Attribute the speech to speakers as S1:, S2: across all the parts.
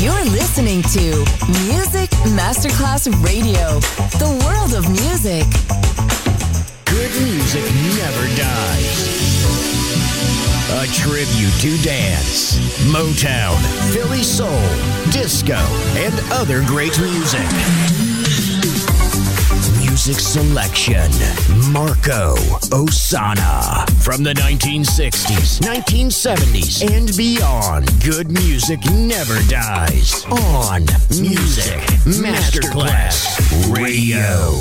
S1: You're listening to Music Masterclass Radio, the world of music.
S2: Good music never dies. A tribute to dance, Motown, Philly soul, disco, and other great music. Music selection, Marco Ossanna. From the 1960s, 1970s, and beyond, good music never dies. On Music Masterclass Radio.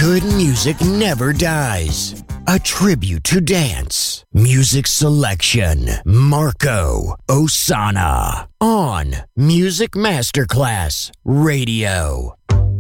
S2: Good music never dies. A tribute to dance. Music selection. Marco Ossanna. On Music Masterclass Radio.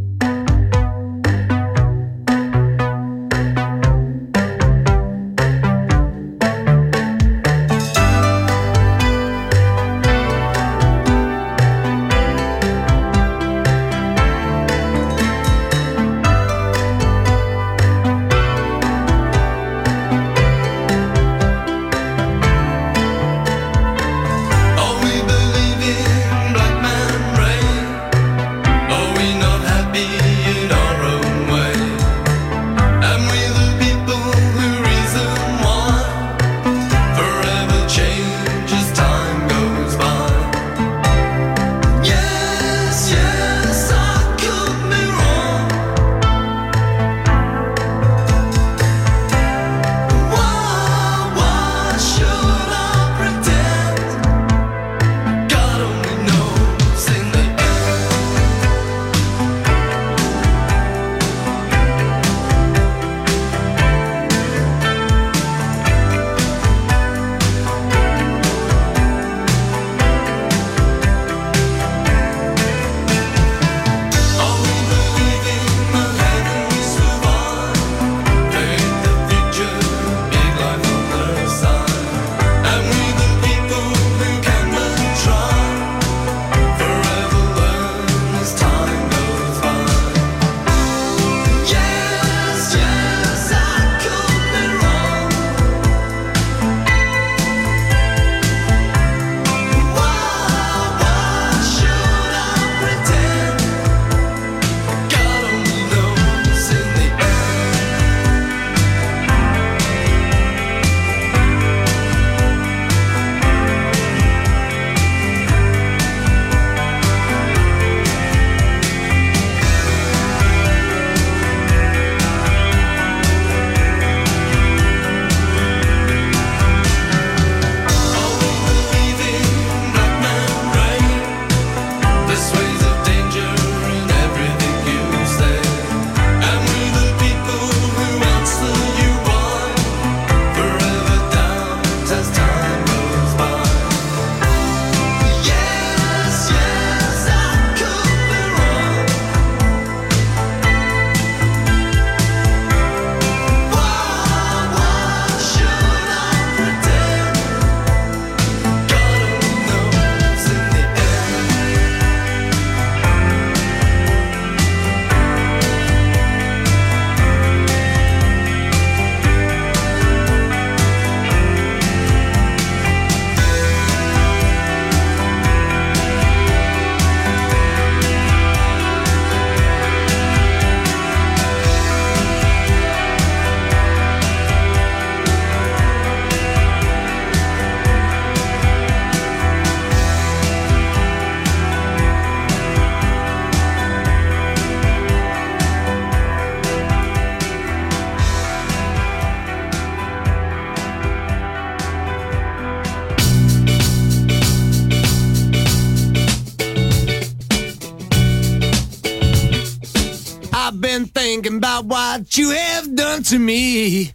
S3: Thinking about what you have done to me.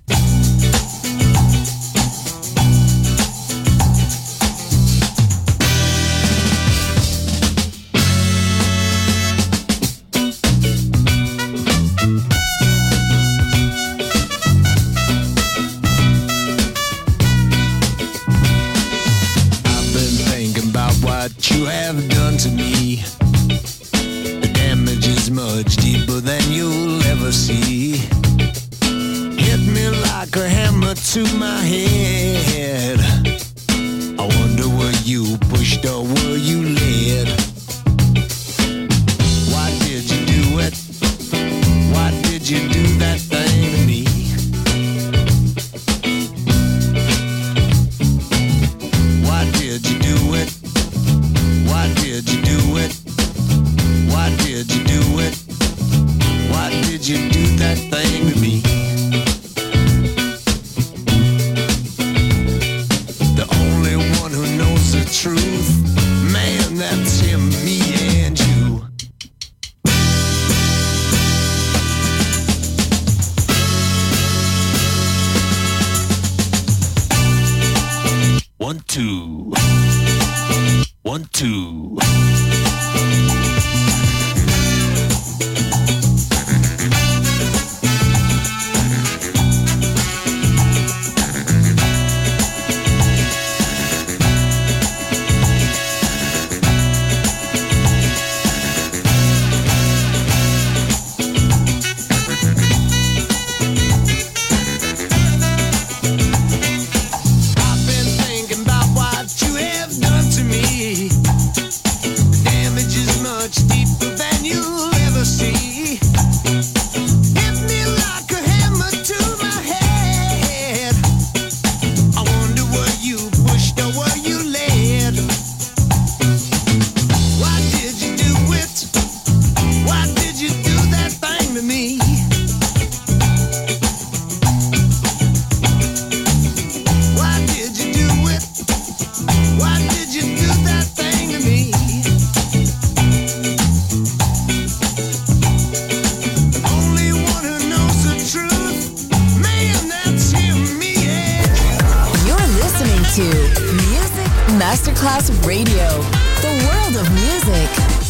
S3: I've been thinking about what you have done to me. The damage is much deeper than you'll ever see. Hit me like a hammer to my head. I wonder were you pushed or were you led? Why did you do it? Why did you do that thing to me? Why did you do it? Why did you do it? Why did you do it? Why did you do that thing to me? The only one who knows the truth, man, that's him, me and you. two. 1, 2.
S1: Masterclass Radio, the world of music.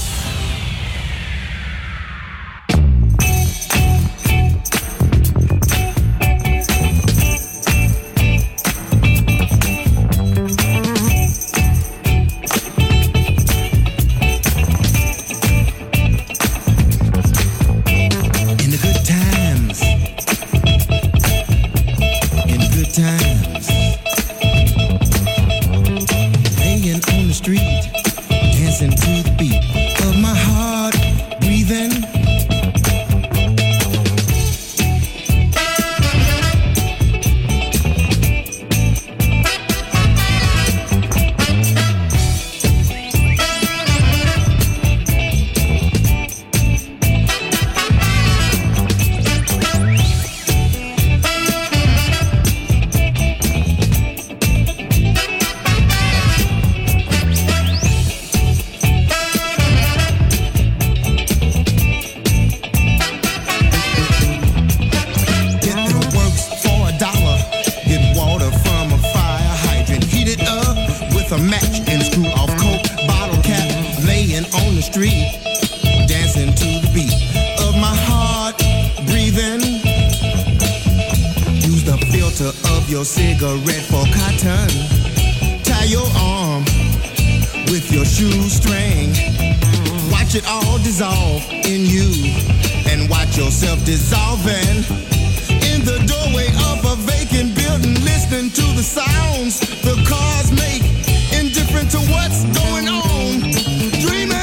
S4: Cigarette for cotton. Tie your arm with your shoestring. Watch it all dissolve in you and watch yourself dissolving in the doorway of a vacant building. Listening to the sounds the cars make, indifferent to what's going on. Dreaming.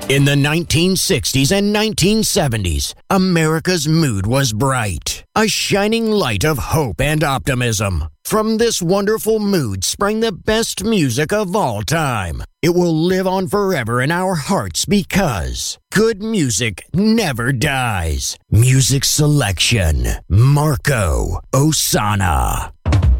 S2: In the 1960s and 1970s, America's mood was bright, a shining light of hope and optimism. From this wonderful mood sprang the best music of all time. It will live on forever in our hearts because good music never dies. Music selection, Marco Ossanna.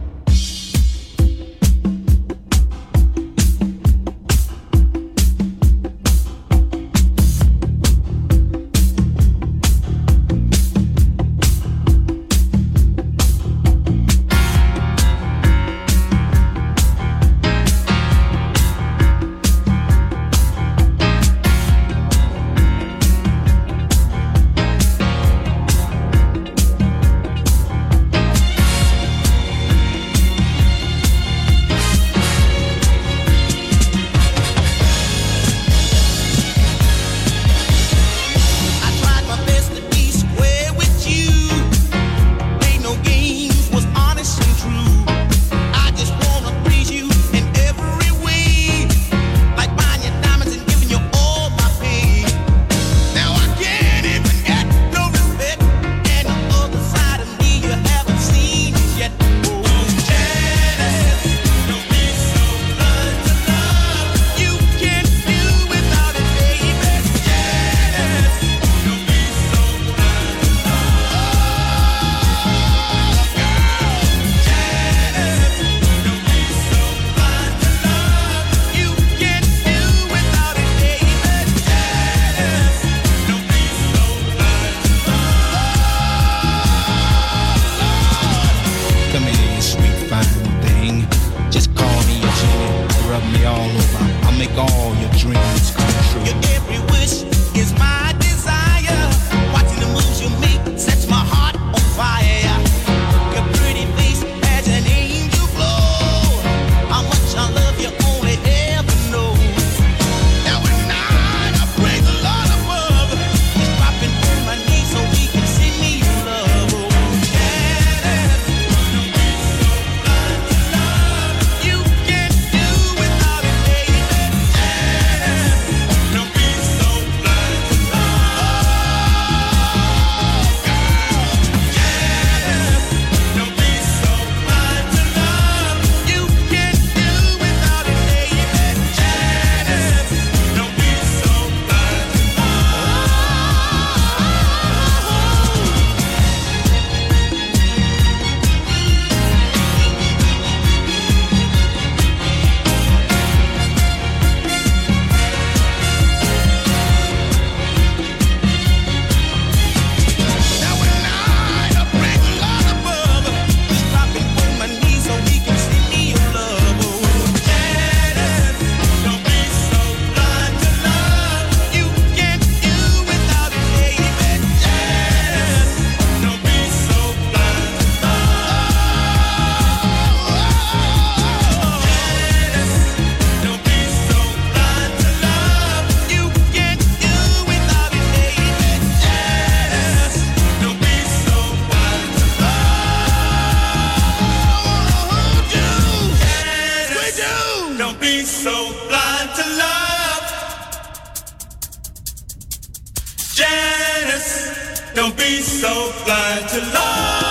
S5: Don't be so blind to love.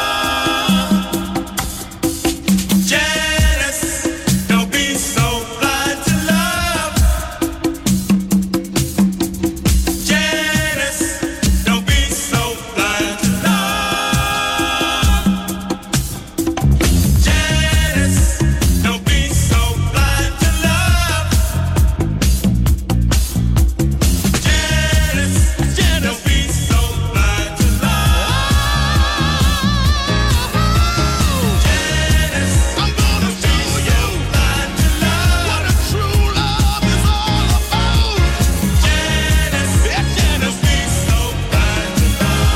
S5: Janice, don't be so blind to love. Janice, don't be so blind to love. Janice, don't be so blind to love. Janice, don't be so blind to love. Janice, I'm gonna show you blind to love. What a true love is all about. Janice, don't be so blind to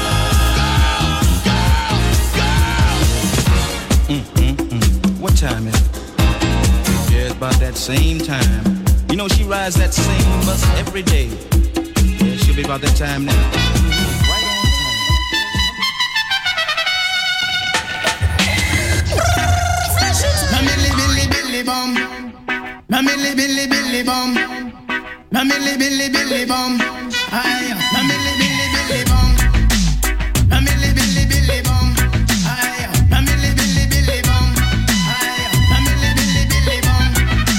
S5: love.
S6: What time is it? Yeah, it's about that same time. You know, she rides that same bus every day. Yeah, she'll be about that time now. Right on
S4: Mammy Billy Billy Bum. Mammy Billy Billy Bum. Na milli billy billy bum. Aye, na milli billy billy bum. Na milli billy billy bum. Aye, na milli billy billy bum. Aye, na milli billy billy bum.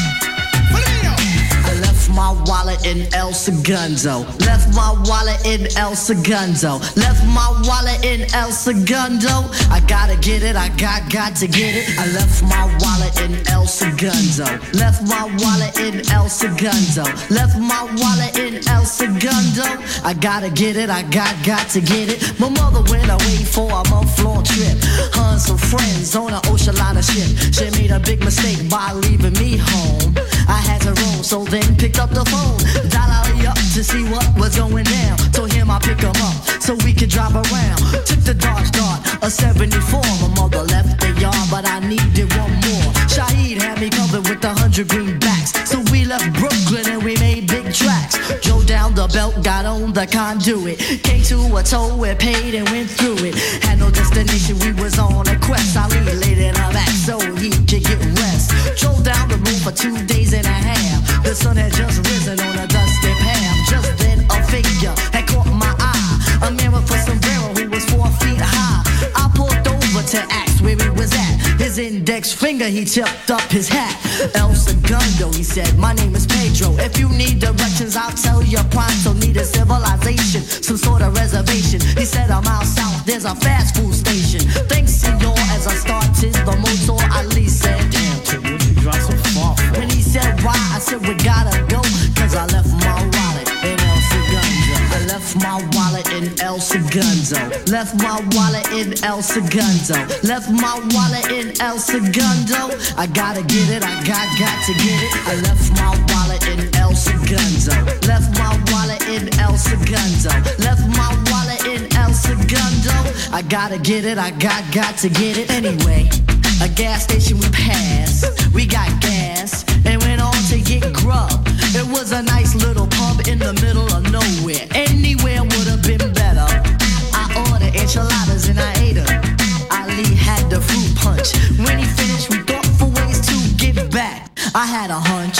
S4: Follow me now.
S7: I left my wallet in El Segundo. Left my wallet in El Segundo. Left my wallet in El Segundo. I gotta get it, I got to get it. I left my wallet in El Segundo. Left my wallet in El Segundo. Left my wallet in El Segundo. I gotta get it, I got to get it. My mother went away for a month-long trip. Her and some friends on an ocean liner ship. She made a big mistake by leaving me home. I had to roam, so then picked up the phone. Dial up to see what was going down. Told him I'd pick him up so we could drive around. Took the Dodge Dart, a 74. My mother left the yard, but I needed one more. Shaheed had me covered with 100 greenbacks. So we left Brooklyn and we made big tracks. Drove down the belt, got on the conduit. Came to a toll, we paid and went through it. Had no destination, we was on a quest. I laid in her back so he could get rest. Drove down the road for 2 days and a half. The sun had just risen on a dusty path. Just then a figure had caught my eye. A man with a sombrero who was 4 feet high. I pulled over to ask where he was at. His index finger, he tipped up his hat. El Segundo, he said, my name is Pedro. If you need directions, I'll tell you pronto. Need a civilization, some sort of reservation. He said, I'm out south, there's a fast food station. Thanks, senor, as I started the motor. Ali said, damn, what you drive so far for? When he said, why? I said, we gotta go, cause I left my wallet in El Segundo. I left my wallet in El Segundo. Left my wallet in El Segundo. Left my wallet in El Segundo. I gotta get it, I got to get it. I left my wallet in El Segundo. Left my wallet in El Segundo. Left my wallet in El Segundo. I gotta get it, I got to get it. Anyway, a gas station we passed. We got gas and went on to get grub. It was a nice little pub in the middle of nowhere. Anywhere would have been better. I ordered enchiladas and I ate them. Ali had the fruit punch. When he finished, we thought for ways to get back. I had a hunch.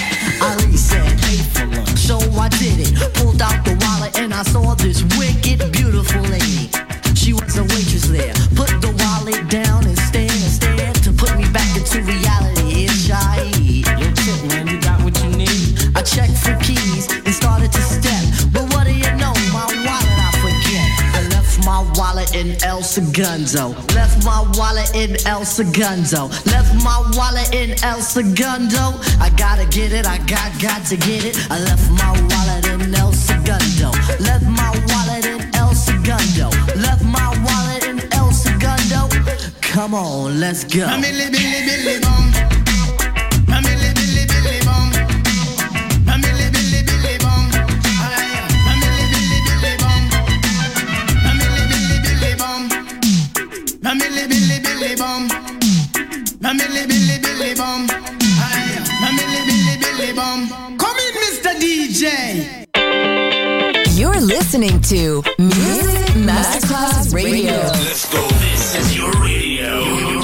S7: Ali said, pay for lunch. So I did it. Pulled out the wallet and I saw this wicked, beautiful lady. She was a waitress there. Put the wallet down and stared to put me back into reality. It's Shaheed.
S8: Yo, Tip, man, you got what you need.
S7: I checked for keys and started to step. But what do you know? My wallet I forget. I left my wallet in El Segundo. Left my wallet in El Segundo. Left my wallet in El Segundo. I gotta get it, I got to get it. I left my wallet in El Segundo. Left my wallet in El Segundo. Left my wallet in El Segundo. Come on, let's go.
S4: Na milli billy billy bum. Na milli billy billy bum. Na milli billy billy bum. Aye, na milli billy billy bum. Na milli billy billy bum. Na milli billy billy bum. Na milli billy billy bum. Aye, na milli billy billy bum. Come in, Mr. DJ.
S1: You're listening to Music Masterclass Radio.
S5: Let's go. This is your radio.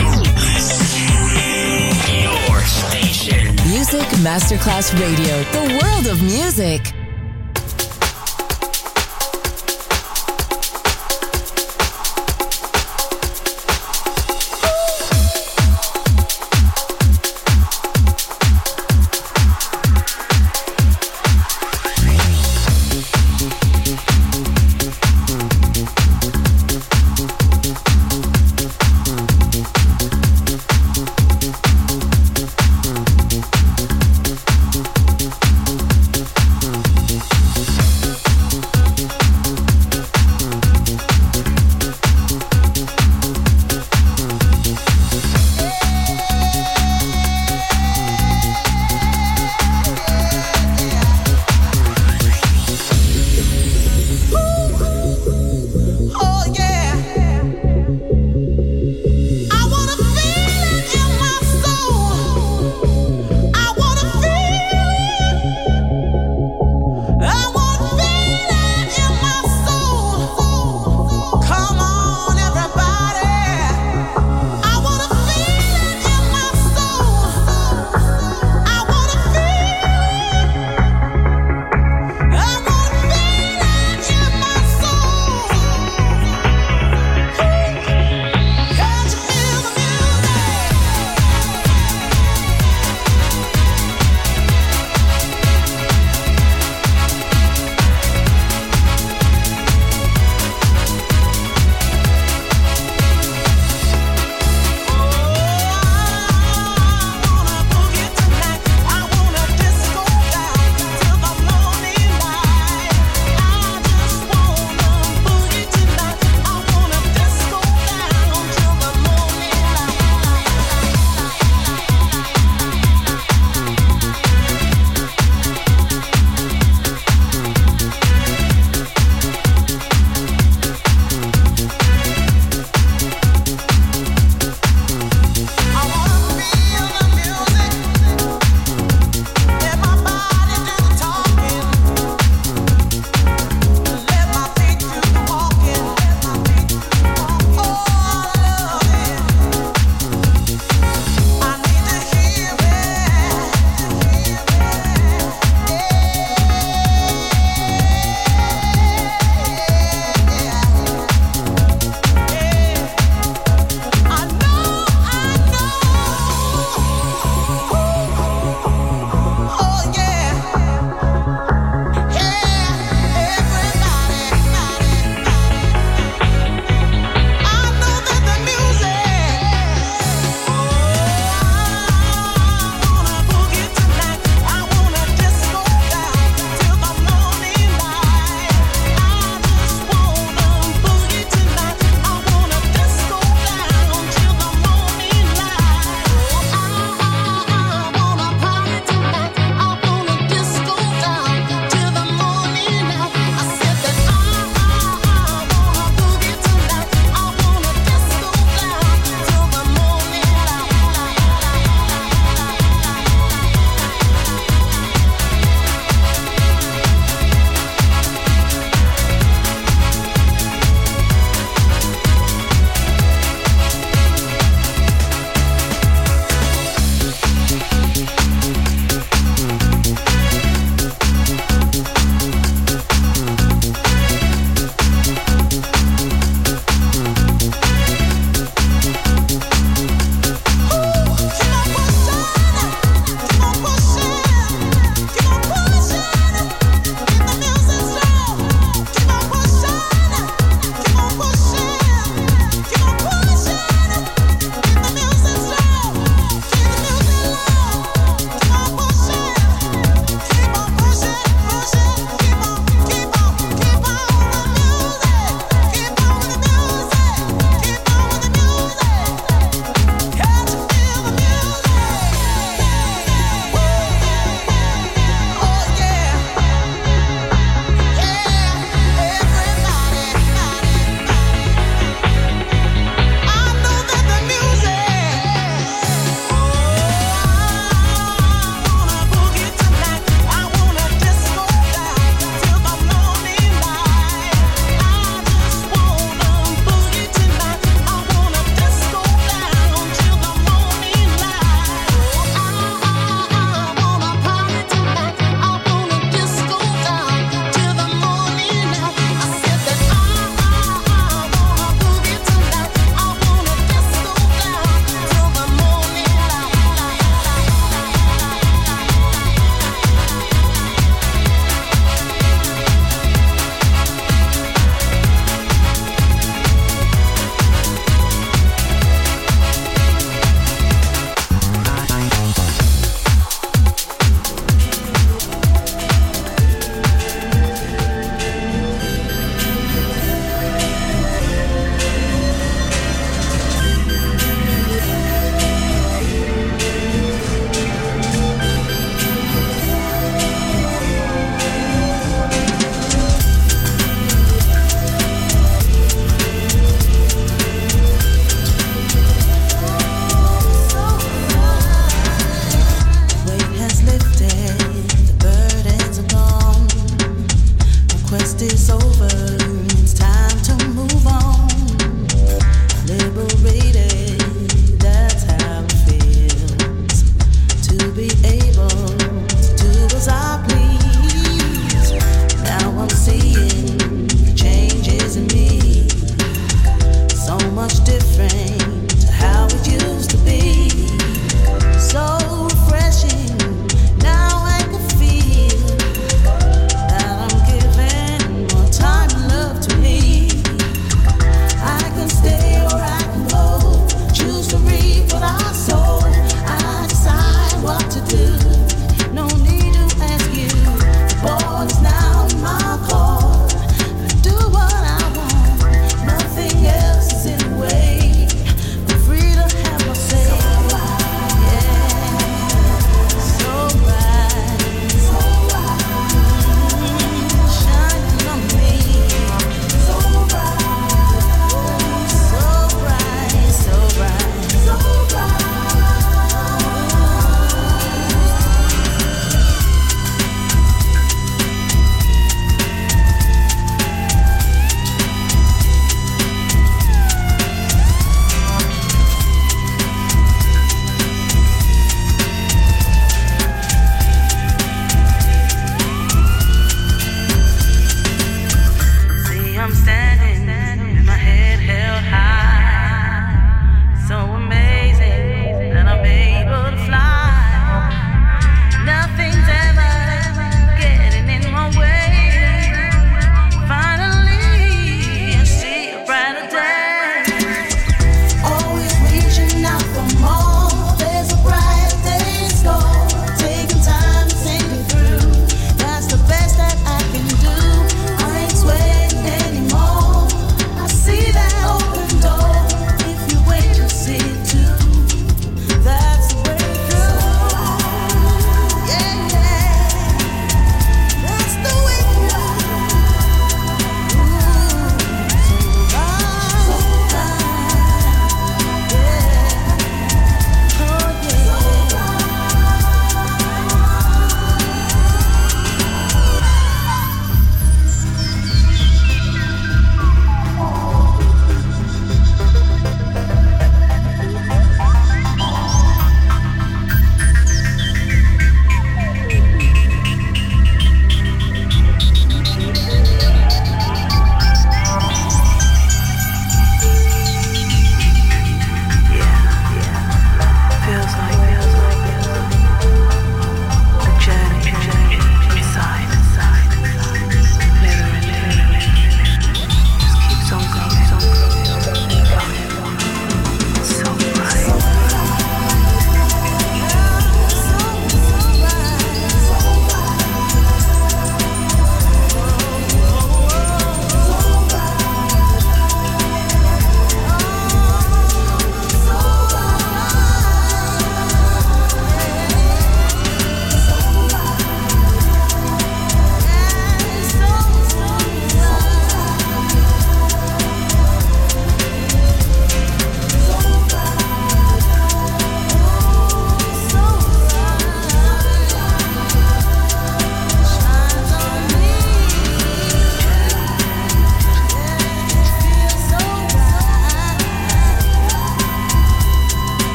S5: Your station.
S1: Music Masterclass Radio. The world of music.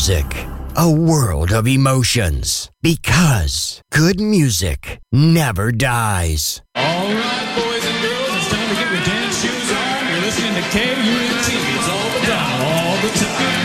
S2: music, a world of emotions. Because good music never dies.
S9: All right, boys and girls, it's time to get your dance shoes on. You're listening to KUNT. It's all the time, all the time.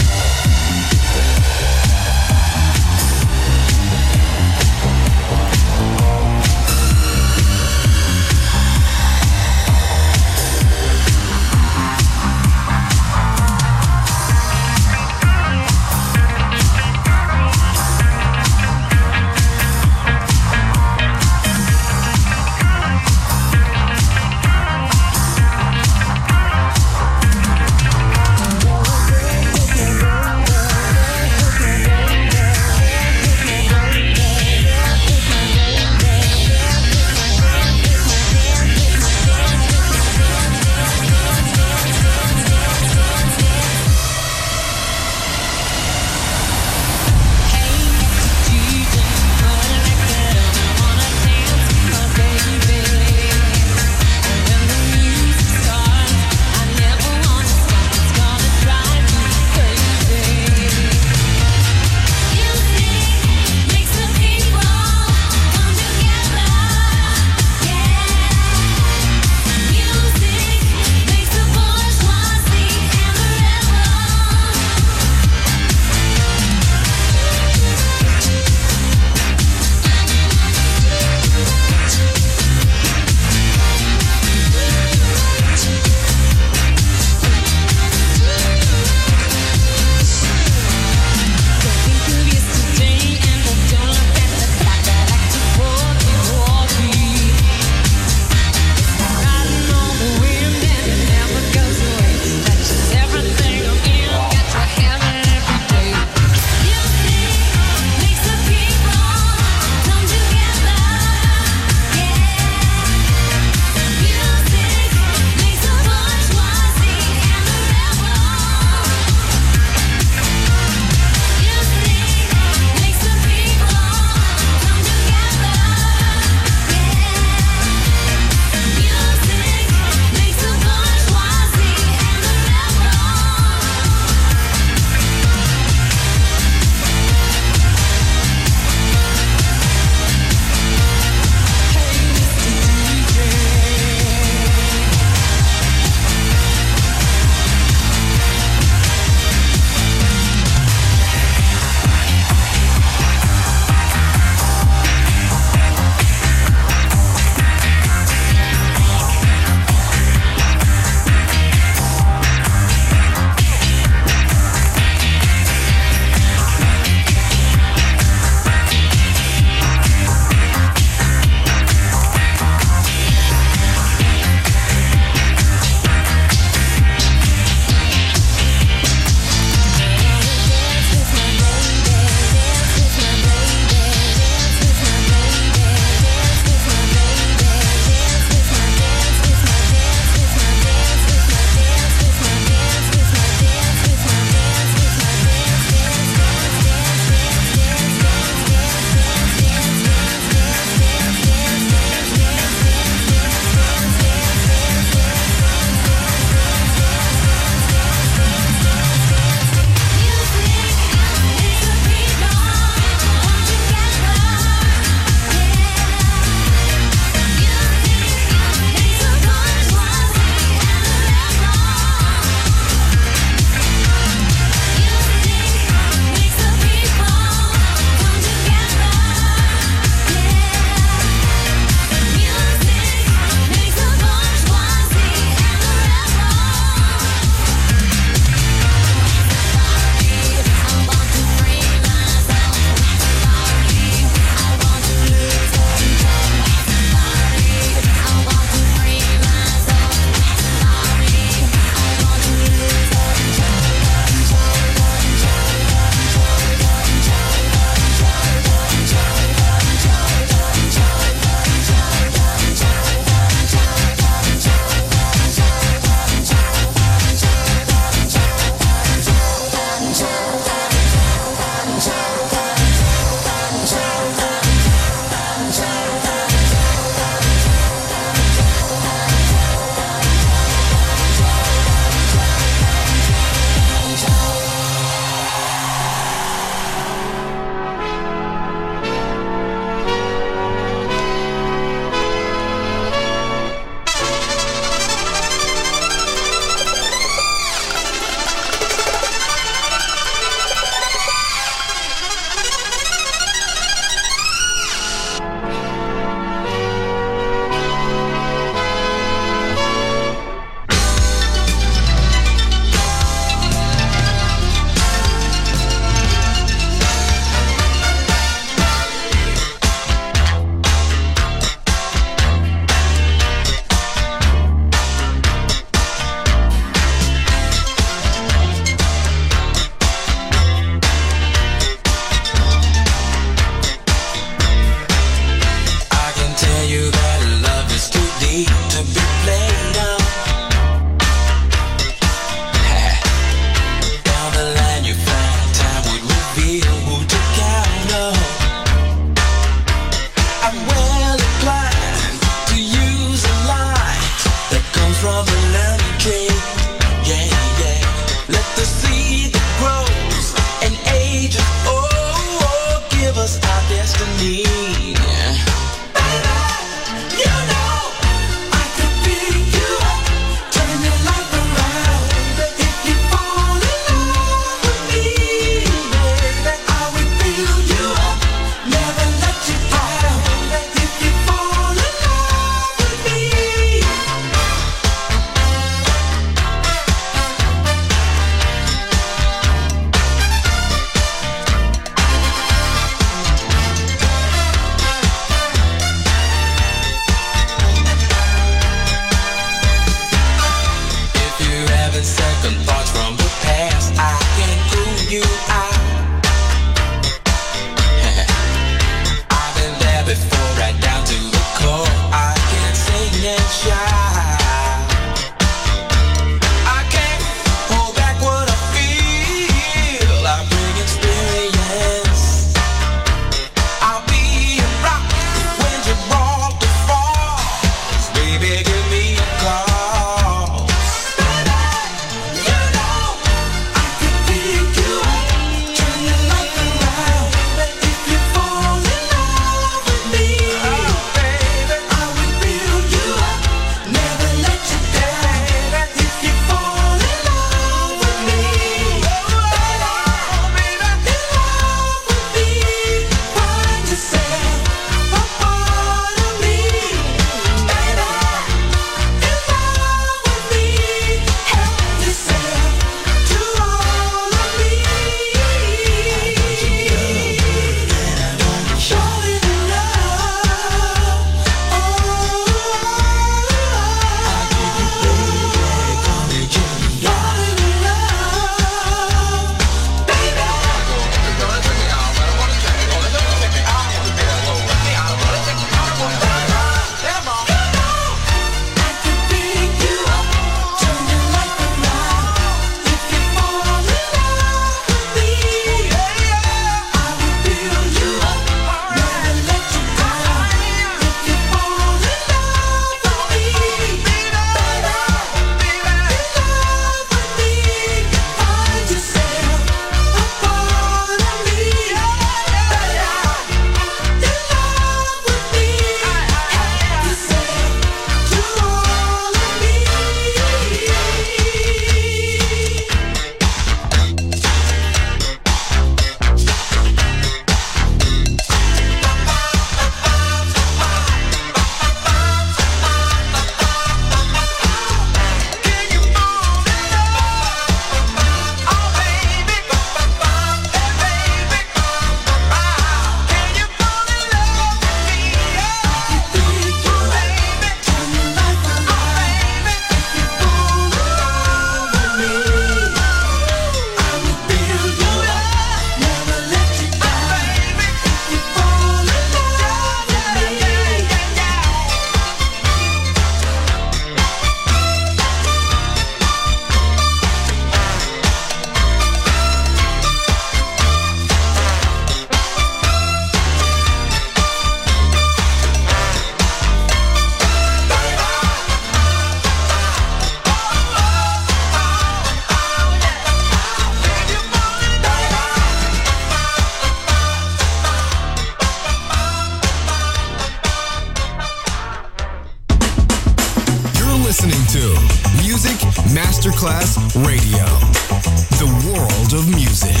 S10: Masterclass Radio, the world of music.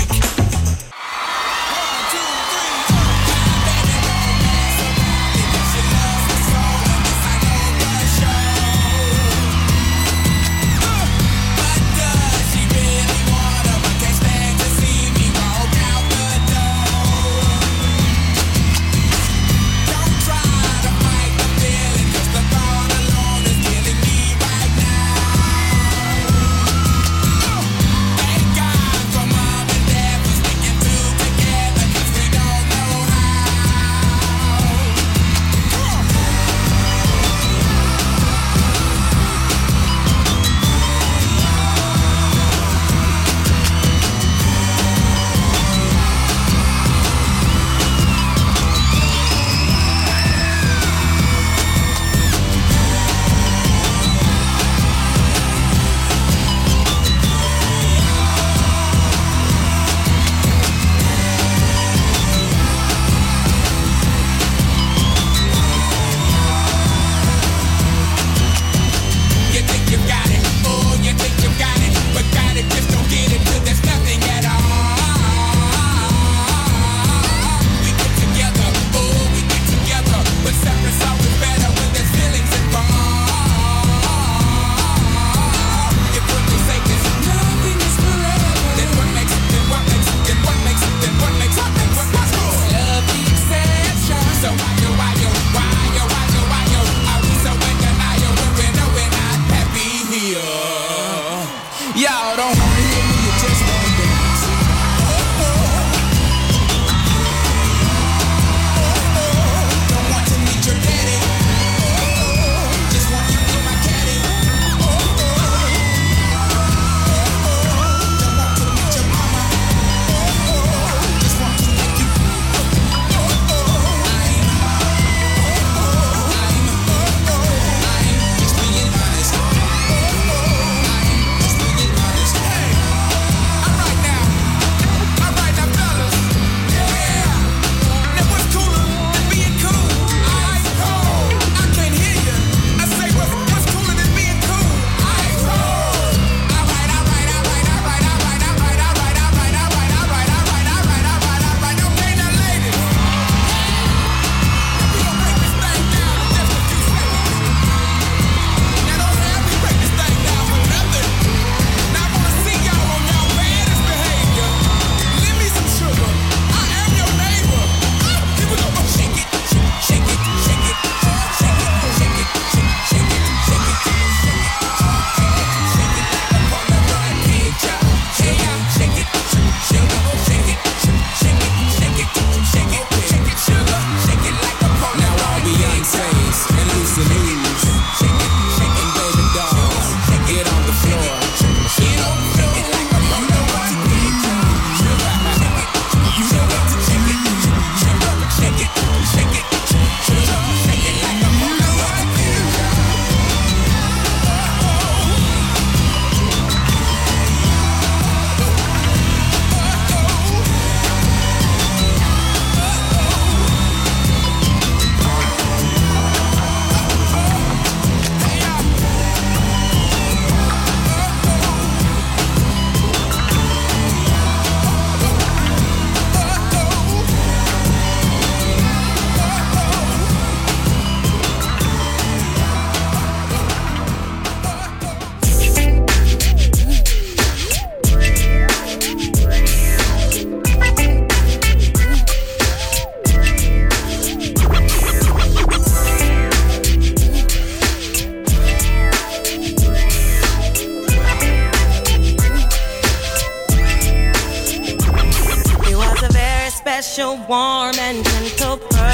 S11: special, warm and gentle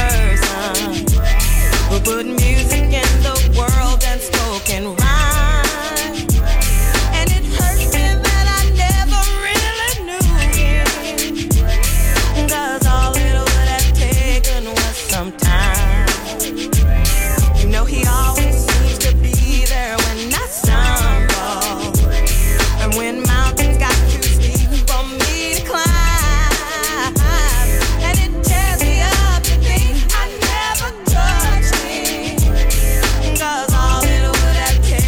S11: person who put music in the world and spoken rhyme. And it hurts me that I never really knew him, 'cause all it would have taken was some time. You know he always seems to be there when I stumble, and when mountains got too steep for me to climb. Take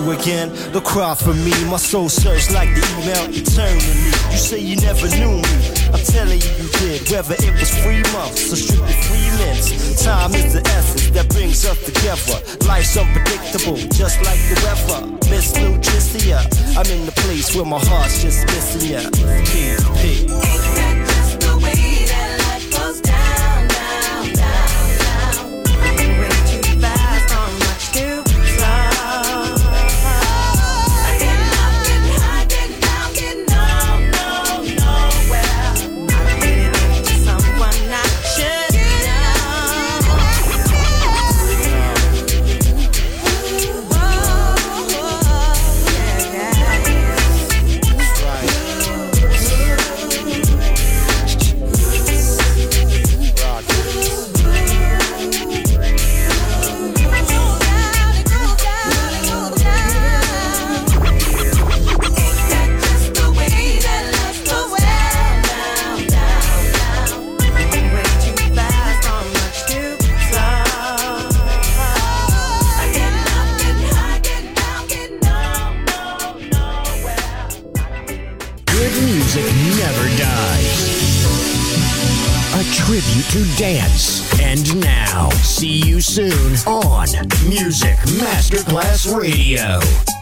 S12: you again. Look cry for me, my soul surged like the email eternally. You say you never knew me, I'm telling you you did. Whether it was 3 months or strictly 3 minutes, time is the essence that brings us together. Life's unpredictable, just like the weather. Miss Lutricia, I'm in the place where my heart's just missing ya. P.
S2: To dance. And now, see you soon on Music Masterclass Radio.